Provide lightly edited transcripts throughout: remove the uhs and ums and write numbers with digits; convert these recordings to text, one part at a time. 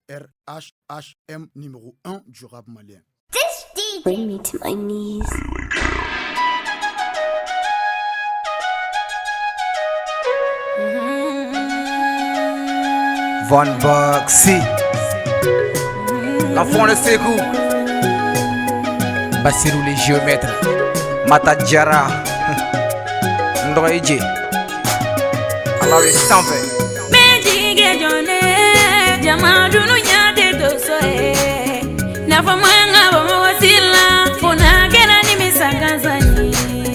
RHHM numéro 1 du rap malien. Bring me to my knees. Von Boxy, l'enfant de Ségou, Bassirou les géomètres, Mata Diarra, Ndroidje, alors il s'en va. Méjigé Joné, Jamadou nous y'a des dossés. Na famanga bomo wasila, fona kena ni misakazani.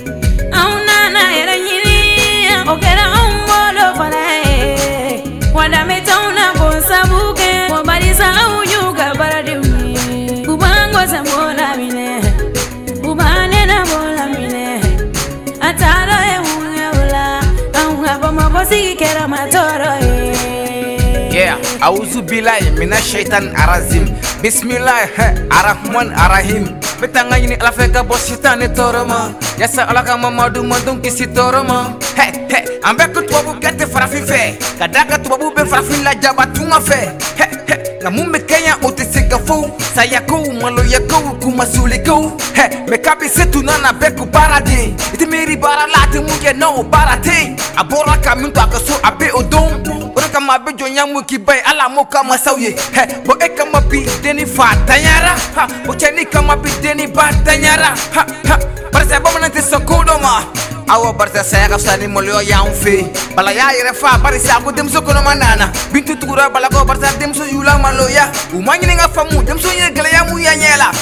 Auna na era nyiri, okera umbolo falae. Wada metauna bonsabuke, wabarisa unyuga baradimi. Kubango zambola mine, kubane na bola mine. Atalo e ungeula, aunga bomo bosi kera matoro e. Yeah, auzu billahi mina shaitan arazim. Bismillah, arrahman arrahim. Betanga ini alafeka bos shaitan toroma. Yasa alaka mamadu mandung kisi toroma. Ambek tuabu gete farafin fe. Kadaka tuabu be farafin la jabatuma fe. Na mumbe Kenya oteseka fou. Sayako malo yako kumasuliko. Mekabi setu nana beku barade. Iti meri baralate muke no barate. Abora kaminto akaso abe odom. Ora kama be jonyamu kibai ala moka masauye. Bo ekama bi deni fatanyara. Bo cheni kama bi deni batanyara. Parece bomba nante sokodoma. Awa barta saya sani molio ya unfe. Bala ya irefa barisa ko demso kono manana. Bintu tukura bala ko barta demso yula maloya. Umanyi nga famu demso yegala ya muya nyela.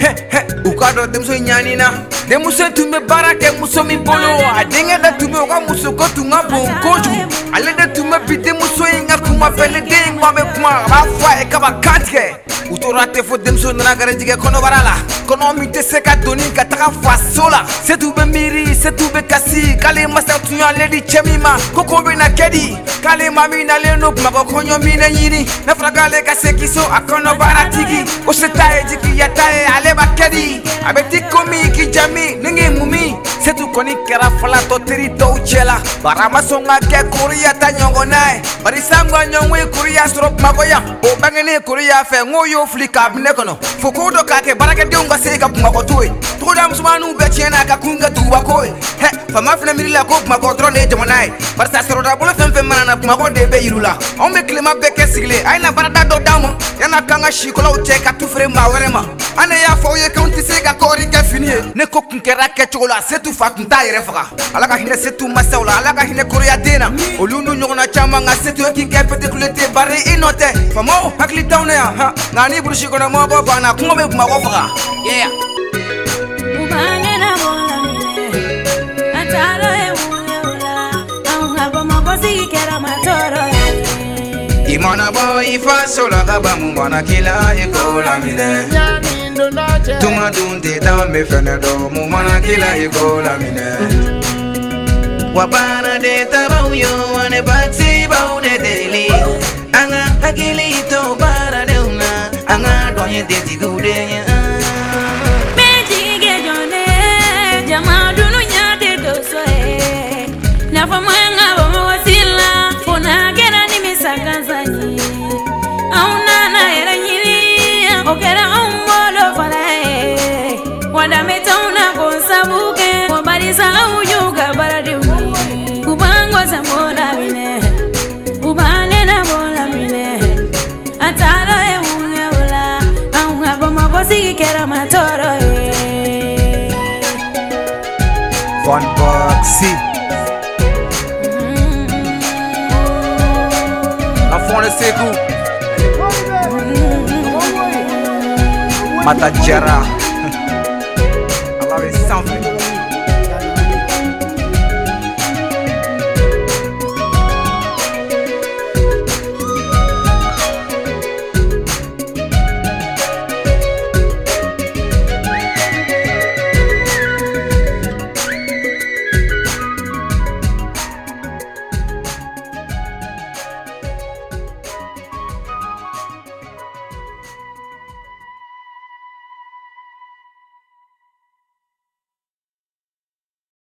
Ukado demso nyanina. Demuso tume barake muso mi bolo. Adenga da tume wa muso ko tunga bonkoju. Ale da tume bide muso inga kuma pele de ngwabe kuma rafa e kaba katke. Utorate fo demso na garejige kono barala. Kono mi te seka doni ka taka fasola. Setu be miri, setu be kasi. Kale masa tunya lady chemima. Koko be na kedi. Kale mami na leno mako konyo mi na yini. Na fragale ka sekiso akono baratigi. O setae jiki yatae ale ba kedi. Abeti komi ki jami ningi mumi. Setu koni kera fala to teri to uchela. Barama songa ke kuria ta nyongo nae. Barisangwa nyongwe kuria strop magoya. O bangene kuria fe ngoyo flika abnekono. Fokodo kake barake deunga seka makotoe. Tukoda msumanu bechena kakunga tuwakoe. Fama fina mirila ko makodro ne jamanai. Barsa seroda bolo femfe manana makode be yirula. On me klima beke sigle. Aina barada do damo. Yana kanga shikola ucheka tufre mawerema. Ane ya foye kaunti seka kori ke finie. Ne kokunkera ke chola setu fakunta irefaka. Alaka hine setu masaula. Alaka hine korea dena. Olunu nyona chama nga setu ekinke pete kulete bare inote. Famo hakli taune ya. Ngani burushi kona mwabo bana kumobe kumawofaka. Yeah. Ubane na bola mine. Atalo e ungeula, aunga bomo bosi kera matoro e. Imana boy fasola kaba mumana kila ikola mine. Tuma dunte ta me fenado mumana kila ikola mine. Wabana de tabauyo ane baksi bau de deli. Anga hakili to para de una. Anga doye de tigude ya. Méjigé Joné, Jamadou nous y'a des dossés. Na famanga bomo wasila, fona kena ni misakazani. Auna na era nyiri, okera umbolo falae. Wada metauna bonsabuke, wabarisa unyuga baradimi. Kubango zambola mine, kubane na bola mine. Atalo e ungeula, aunga bomo bosi kera matoro e. Von Boxy, l'enfant de Ségou, Mata Diarra.